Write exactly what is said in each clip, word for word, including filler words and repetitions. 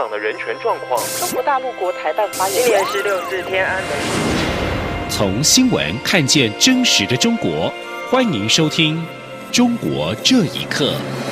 上的人权状况。 中国大陆国台办发言人， 今年十六是天安门。 从新闻看见真实的中国，欢迎收听《中国这一刻》。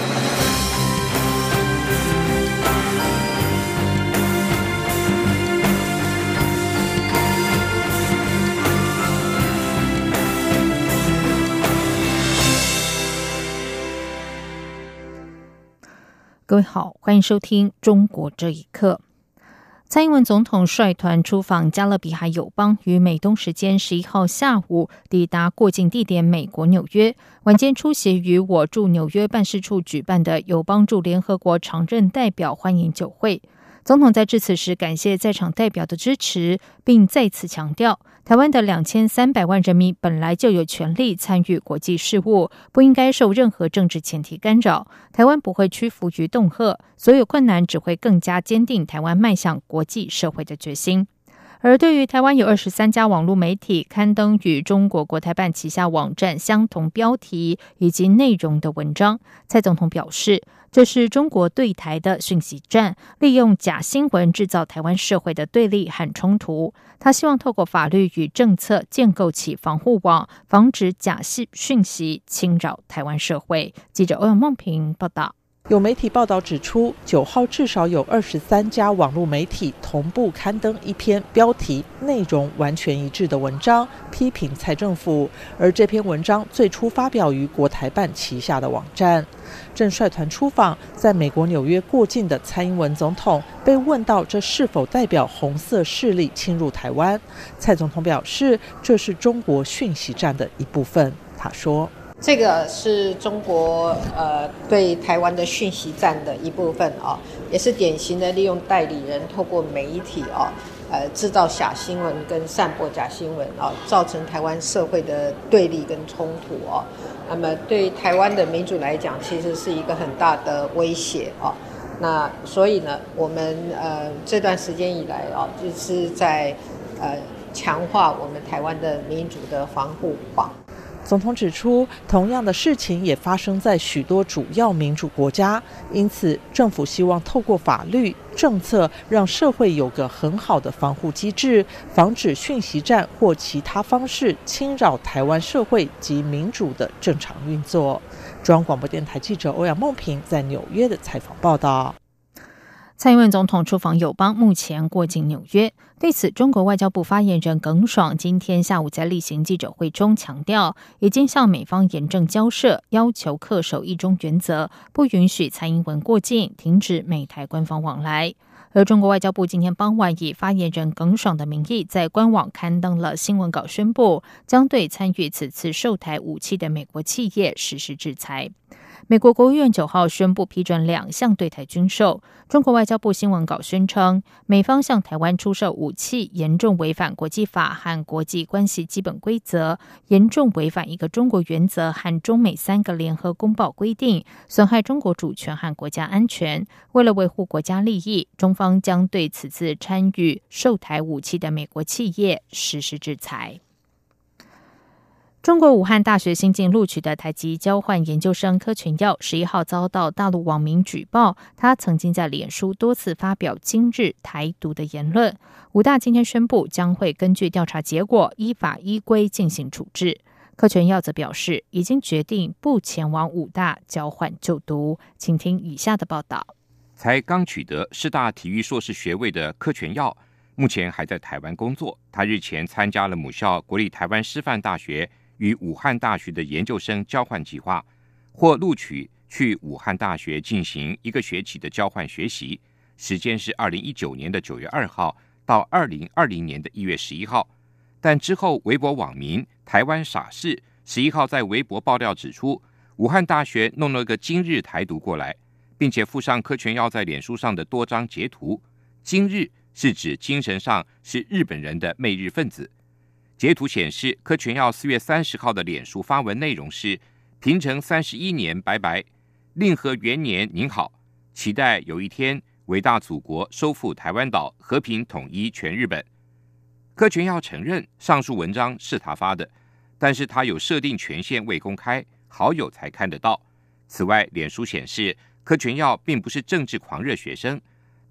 各位好，欢迎收听《中国这一刻》。蔡英文总统率团出访加勒比海友邦，于美东时间十一号下午抵达过境地点美国纽约，晚间出席于我驻纽约办事处举办的友邦驻联合国常任代表欢迎酒会。总统在致辞时感谢在场代表的支持，并再次强调，台湾的两千三百万人民本来就有权利参与国际事务，不应该受任何政治前提干扰。台湾不会屈服于恫吓，所有困难只会更加坚定台湾迈向国际社会的决心。而对于台湾有二十三家网络媒体刊登与中国国台办旗下网站相同标题以及内容的文章，蔡总统表示，这是中国对台的讯息战，利用假新闻制造台湾社会的对立和冲突。他希望透过法律与政策建构起防护网，防止假讯息侵扰台湾社会。记者欧阳梦平报道。 有媒体报道指出，九号至少有二十三家网络媒体同步刊登一篇标题内容完全一致的文章，批评蔡政府。而这篇文章最初发表于国台办旗下的网站。正率团出访在美国纽约过境的蔡英文总统被问到这是否代表红色势力侵入台湾，蔡总统表示，这是中国讯息战的一部分。他说， 这个是中国呃对台湾的讯息战的一部分哦，也是典型的利用代理人透过媒体哦，呃制造假新闻跟散播假新闻哦，造成台湾社会的对立跟冲突哦。那么对台湾的民主来讲，其实是一个很大的威胁哦。那所以呢，我们呃这段时间以来哦，就是在呃强化我们台湾的民主的防护网。 总统指出，同样的事情也发生在许多主要民主国家，因此政府希望透过法律政策让社会有个很好的防护机制，防止讯息战或其他方式侵扰台湾社会及民主的正常运作。中央广播电台记者欧阳梦平在纽约的采访报道。 蔡英文总统出访友邦，目前过境纽约。对此，中国外交部发言人耿爽今天下午在例行记者会中强调，已经向美方严正交涉，要求恪守一中原则，不允许蔡英文过境，停止美台官方往来。而中国外交部今天傍晚以发言人耿爽的名义，在官网刊登了新闻稿，宣布将对参与此次售台武器的美国企业实施制裁。美国国务院九号宣布批准两项对台军售。中国外交部新闻稿宣称，美方向台湾出售武器严重违反国际法和国际关系基本规则，严重违反一个中国原则和中美三个联合公报规定，损害中国主权和国家安全。为了维护国家利益，中方将对此次参与售台武器的美国企业实施制裁。中国武汉大学新进录取的台籍交换研究生柯全耀十一号遭到大陆网民举报，他曾经在脸书多次发表今日台独的言论。武大今天宣布将会根据调查结果依法依规进行处置。柯全耀则表示，已经决定不前往武大交换就读。请听以下的报道。 才刚取得师大体育硕士学位的柯全耀，目前还在台湾工作。他日前参加了母校国立台湾师范大学与武汉大学的研究生交换计划，获录取去武汉大学进行一个学期的交换学习，时间是二零一九年的九月二号到二零二零年的一月十一号。但之后微博网民台湾傻事十一号在微博爆料指出，武汉大学弄了个今日台独过来，并且附上柯全耀在脸书上的多张截图。今日是指精神上是日本人的媚日分子。截图显示，柯全耀四月三十号的脸书发文内容是：平成三十一年拜拜，令和元年您好，期待有一天伟大祖国收复台湾岛，和平统一全日本。柯全耀承认上述文章是他发的，但是他有设定权限未公开，好友才看得到。此外，脸书显示柯全耀并不是政治狂热学生，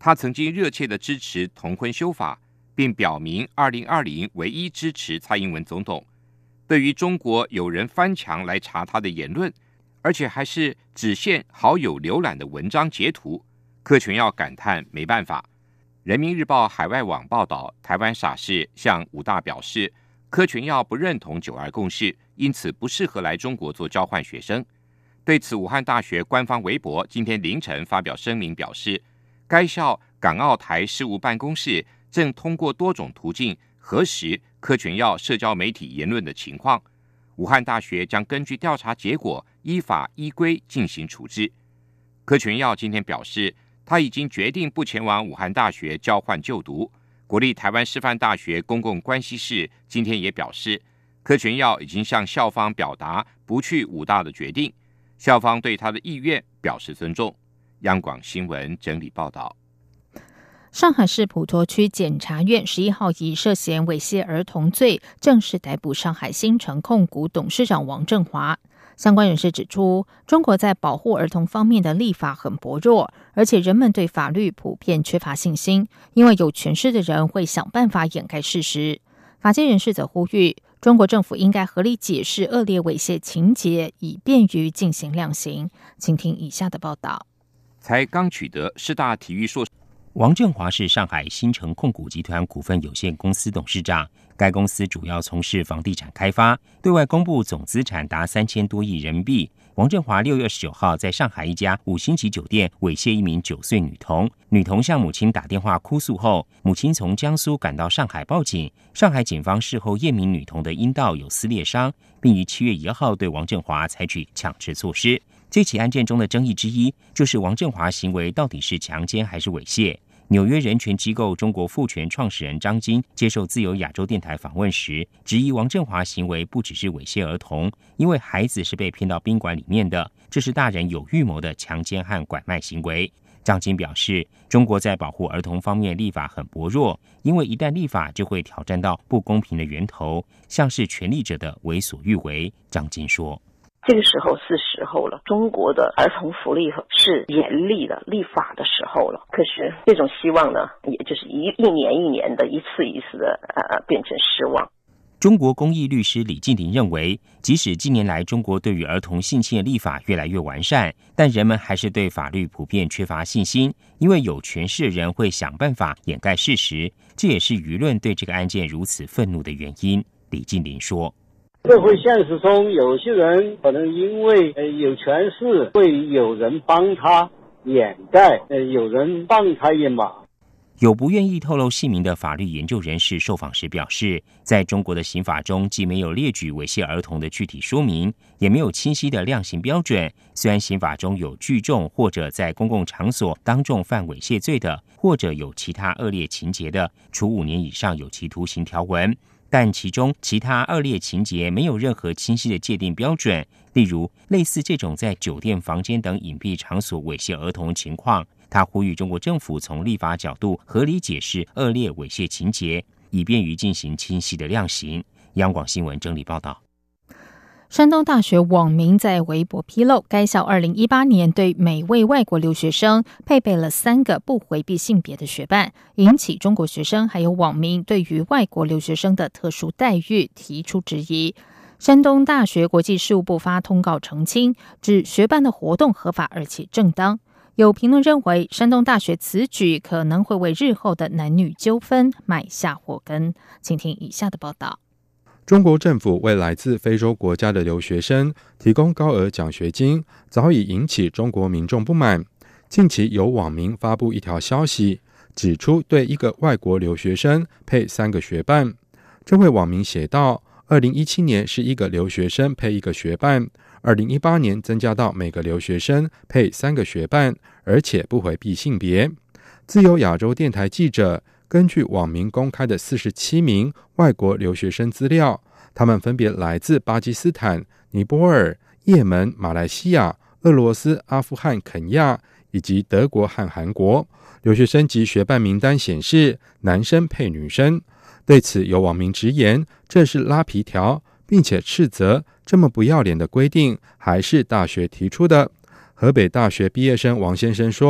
他曾经热切的支持同婚修法，并表明二零二零唯一支持蔡英文总统。对于中国有人翻墙来查他的言论，而且还是只限好友浏览的文章截图，柯全耀感叹没办法。人民日报海外网报道，台湾傻事向武大表示，柯全耀不认同九二共识，因此不适合来中国做交换学生。对此，武汉大学官方微博今天凌晨发表声明表示，该校港澳台事务办公室正通过多种途径核实柯全耀社交媒体言论的情况，武汉大学将根据调查结果依法依规进行处置。柯全耀今天表示，他已经决定不前往武汉大学交换就读。国立台湾师范大学公共关系室今天也表示，柯全耀已经向校方表达不去武大的决定，校方对他的意愿表示尊重。央广新闻整理报道。 上海市普陀区检察院十一号以涉嫌猥亵儿童罪正式逮捕上海新城控股董事长王振华。相关人士指出，中国在保护儿童方面的立法很薄弱，而且人们对法律普遍缺乏信心，因为有权势的人会想办法掩盖事实。法界人士则呼吁，中国政府应该合理解释恶劣猥亵情节，以便于进行量刑。请听以下的报道。 才刚取得师大体育硕士。 王振华是上海新城控股集团股份有限公司董事长，该公司主要从事房地产开发，对外公布总资产达三千多亿人民币。王振华六月二十九号在上海一家五星级酒店猥亵一名九岁女童，女童向母亲打电话哭诉后，母亲从江苏赶到上海报警。上海警方事后验明女童的阴道有撕裂伤，并于七月一号对王振华采取强制措施。这起案件中的争议之一，就是王振华行为到底是强奸还是猥亵。纽约人权机构中国妇权创始人张晶接受自由亚洲电台访问时，质疑王振华行为不只是猥亵儿童，因为孩子是被骗到宾馆里面的，这是大人有预谋的强奸和拐卖行为。张晶表示，中国在保护儿童方面立法很薄弱，因为一旦立法就会挑战到不公平的源头，像是权力者的为所欲为。张晶说， 这个时候是时候了，中国的儿童福利是严厉的立法的时候了。可是这种希望呢，也就是一一年一年的一次一次的呃变成失望。 中国公益律师李敬林认为，即使近年来中国对于儿童性侵的立法越来越完善，但人们还是对法律普遍缺乏信心，因为有权势的人会想办法掩盖事实，这也是舆论对这个案件如此愤怒的原因。李敬林说， 社会现实中，有些人可能因为呃有权势，会有人帮他掩盖，呃有人帮他掩马。 有不愿意透露姓名的法律研究人士受访时表示，在中国的刑法中，既没有列举猥亵儿童的具体说明，也没有清晰的量刑标准。虽然刑法中有聚众或者在公共场所当众犯猥亵罪的，或者有其他恶劣情节的，处五年以上有期徒刑条文，但其中其他恶劣情节没有任何清晰的界定标准，例如类似这种在酒店房间等隐蔽场所猥亵儿童的情况。他呼吁中国政府从立法角度合理解释恶劣猥亵情节，以便于进行清晰的量刑。央广新闻整理报道。 山东大学网民在微博披露，该校二零一八年对每位外国留学生配备了三个不回避性别的学伴，引起中国学生还有网民对于外国留学生的特殊待遇提出质疑。山东大学国际事务部发通告澄清，指学伴的活动合法而且正当。有评论认为，山东大学此举可能会为日后的男女纠纷埋下祸根。请听以下的报道。 中国政府为来自非洲国家的留学生提供高额奖学金，早已引起中国民众不满。近期有网民发布一条消息，指出对一个外国留学生配三个学伴。这位网民写道，二零一七年是一个留学生配一个学伴，二零一八年增加到每个留学生配三个学伴，而且不回避性别。自由亚洲电台记者根据网民公开的四十七名外国留学生资料，他们分别来自巴基斯坦、尼泊尔、也门、马来西亚、俄罗斯、阿富汗、肯亚以及德国和韩国。留学生及学伴名单显示，男生配女生。对此，有网民直言这是拉皮条，并且斥责这么不要脸的规定还是大学提出的。河北大学毕业生王先生说，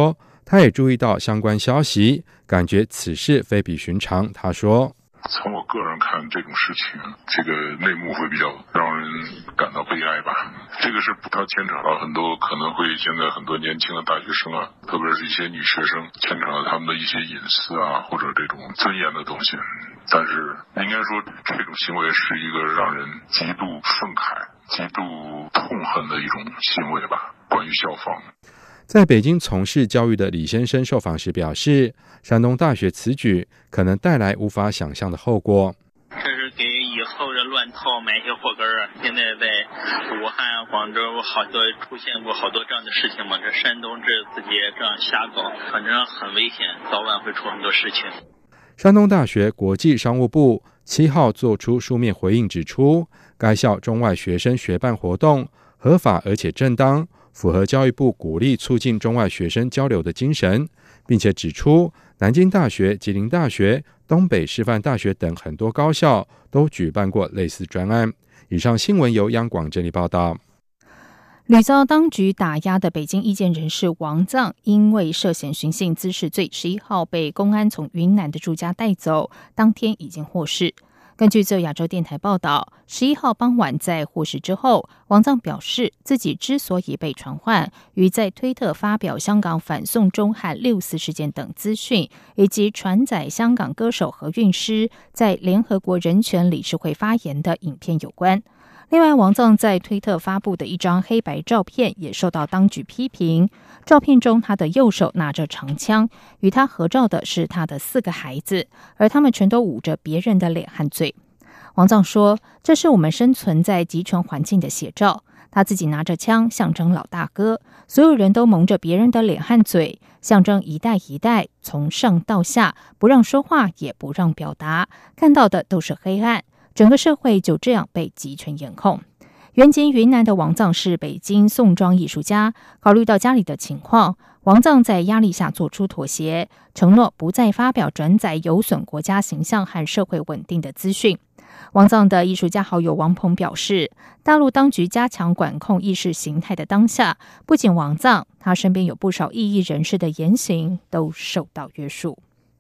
他也注意到相关消息，感觉此事非比寻常。他说， 从我个人看，这种事情，这个内幕会比较让人感到悲哀吧。这个是它牵扯到很多可能会现在很多年轻的大学生啊，特别是一些女学生，牵扯到他们的一些隐私啊，或者这种尊严的东西。但是应该说，这种行为是一个让人极度愤慨、极度痛恨的一种行为吧。关于校方。 在北京从事教育的李先生受访时表示，山东大学此举可能带来无法想象的后果。 这是给以后的乱套埋下祸根啊！现在在武汉、广州好多出现过好多这样的事情嘛，这山东这自己这样瞎搞，反正很危险，早晚会出很多事情。 山东大学国际商务部七号作出书面回应，指出该校中外学生学办活动合法而且正当，符合教育部鼓励促进中外学生交流的精神，并且指出南京大学、吉林大学、东北师范大学等很多高校都举办过类似专案。以上新闻由央广整理报道。 屡遭当局打压的北京意见人士王藏，因为涉嫌寻衅滋事罪，十一号被公安从云南的住家带走，当天已经获释。根据自由亚洲电台报道，十一号傍晚在获释之后，王藏表示自己之所以被传唤，与在推特发表香港反送中和六四事件等资讯，以及传载香港歌手何韵诗在联合国人权理事会发言的影片有关。另外，王藏在推特发布的一张黑白照片也受到当局批评。照片中，他的右手拿着长枪，与他合照的是他的四个孩子，而他们全都捂着别人的脸和嘴。王藏说，这是我们生存在集权环境的写照。他自己拿着枪，象征老大哥，所有人都蒙着别人的脸和嘴，象征一代一代从上到下，不让说话，也不让表达，看到的都是黑暗。整个社会就这样被集权严控。原籍云南的王藏是北京宋庄艺术家，考虑到家里的情况，王藏在压力下做出妥协，承诺不再发表转载有损国家形象和社会稳定的资讯。王藏的艺术家好友王鹏表示，大陆当局加强管控意识形态的当下，不仅王藏，他身边有不少异议人士的言行都受到约束。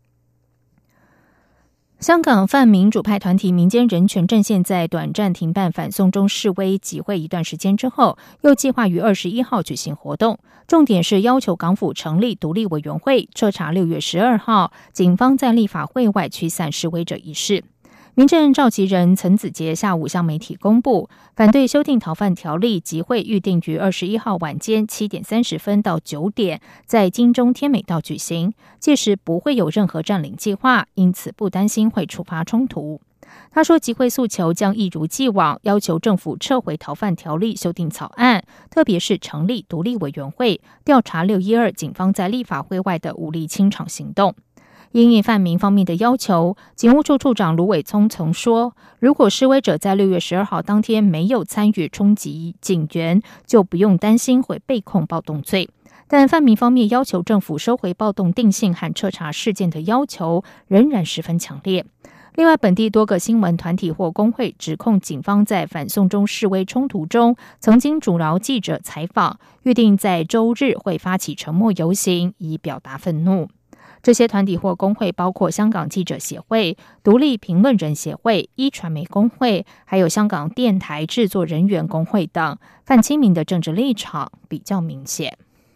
香港泛民主派团体民间人权阵线在短暂停办反送中示威集会一段时间之后，又计划于二十一号举行活动，重点是要求港府成立独立委员会，彻查六月十二号警方在立法会外驱散示威者一事。民阵召集人陈子杰下午向媒体公布，反对修订逃犯条例集会预定于二十一号晚间七点三十分到九点在金钟天美道举行，届时不会有任何占领计划，因此不担心会触发冲突。他说，集会诉求将一如既往，要求政府撤回逃犯条例修订草案，特别是成立独立委员会，调查六一二警方在立法会外的武力清场行动。因应泛民方面的要求，警务处处长卢伟聪曾说，如果示威者在六月十二号当天没有参与冲击警员，就不用担心会被控暴动罪。但泛民方面要求政府收回暴动定性和彻查事件的要求仍然十分强烈。另外，本地多个新闻团体或工会指控警方在反送中示威冲突中曾经阻挠记者采访，预定在周日会发起沉默游行，以表达愤怒。这些团体或工会包括香港记者协会、独立评论人协会、一传媒工会，还有香港电台制作人员工会等，泛亲民的政治立场比较明显。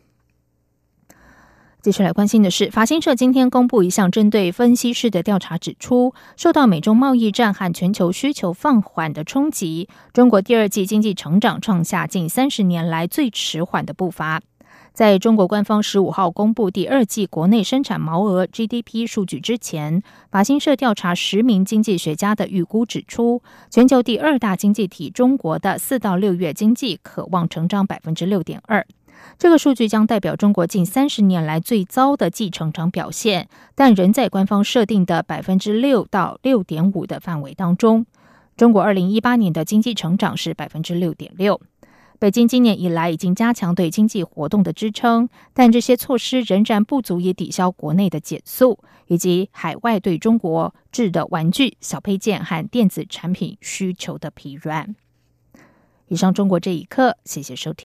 接下来关心的是，法新社今天公布一项针对分析师的调查，指出受到美中贸易战和全球需求放缓的冲击，中国第二季经济成长创下近三十年来最迟缓的步伐。在中国官方十五号公布第二季国内生产毛额 G D P 数据之前，法新社调查十名经济学家的预估指出，全球第二大经济体中国的四到六月经济可望成长 百分之六点二。这个数据将代表中国近三十年来最糟的季成长表现，但仍在官方设定的 百分之六 到 六点五 的范围当中。中国二零一八年的经济成长是 百分之六点六。北京今年以来已经加强对经济活动的支撑，但这些措施仍然不足以抵消国内的减速，以及海外对中国制的玩具、小配件和电子产品需求的疲软。以上中国这一刻，谢谢收听。